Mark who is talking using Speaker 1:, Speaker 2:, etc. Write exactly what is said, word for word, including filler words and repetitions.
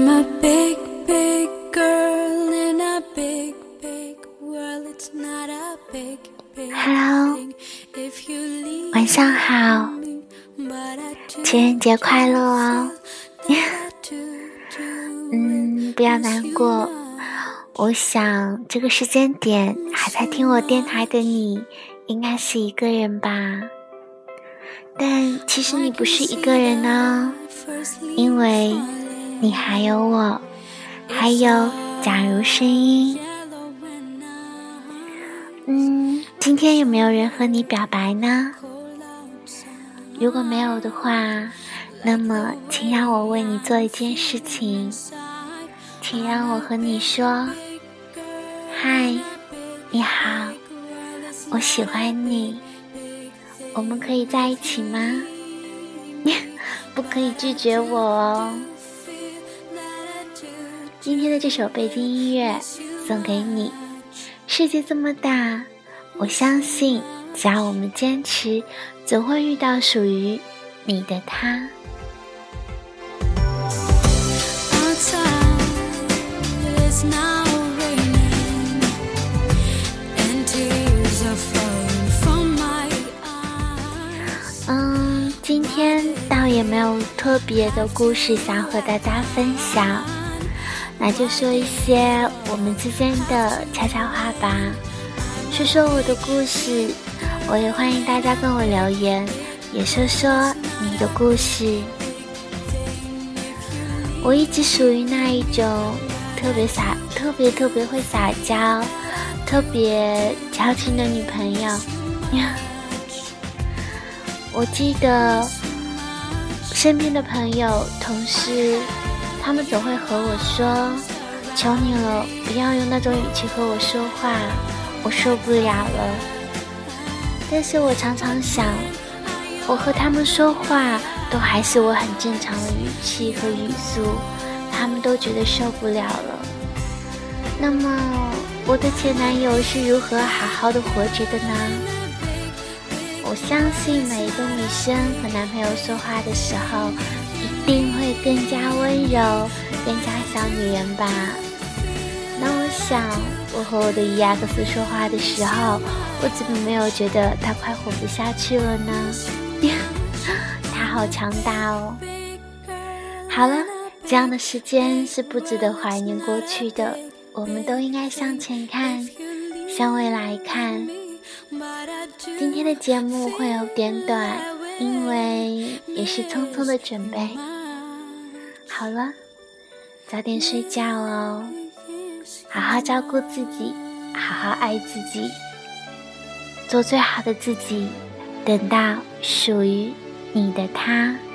Speaker 1: I'm a big, big girl in a big, big world. It's not a big, big thing if you leave.
Speaker 2: 晚上好，情人节快乐哦。嗯，不要难过，我想这个时间点还在听我电台的你应该是一个人吧，但其实你不是一个人哦，因为你还有我，还有假如声音。嗯，今天有没有人和你表白呢？如果没有的话，那么请让我为你做一件事情，请让我和你说，嗨，你好，我喜欢你，我们可以在一起吗？不可以拒绝我哦。今天的这首背景音乐送给你。世界这么大，我相信只要我们坚持，总会遇到属于你的他。嗯，今天倒也没有特别的故事想和大家分享，那就说一些我们之间的悄悄话吧，说说我的故事，我也欢迎大家跟我留言，也说说你的故事。我一直属于那一种特别撒特别特别会撒娇特别矫情的女朋友。我记得身边的朋友同事，他们总会和我说，求你了，不要用那种语气和我说话，我受不了了。但是我常常想，我和他们说话都还是我很正常的语气和语速，他们都觉得受不了了。那么我的前男友是如何好好的活着的呢？我相信每一个女生和男朋友说话的时候一定会更加温柔，更加小女人吧。那我想我和我的 E X 说话的时候，我怎么没有觉得他快活不下去了呢？他好强大哦。好了，这样的时间是不值得怀念过去的，我们都应该向前看，向未来看。今天的节目会有点短，因为也是匆匆的准备。好了，早点睡觉哦，好好照顾自己，好好爱自己，做最好的自己，等到属于你的他。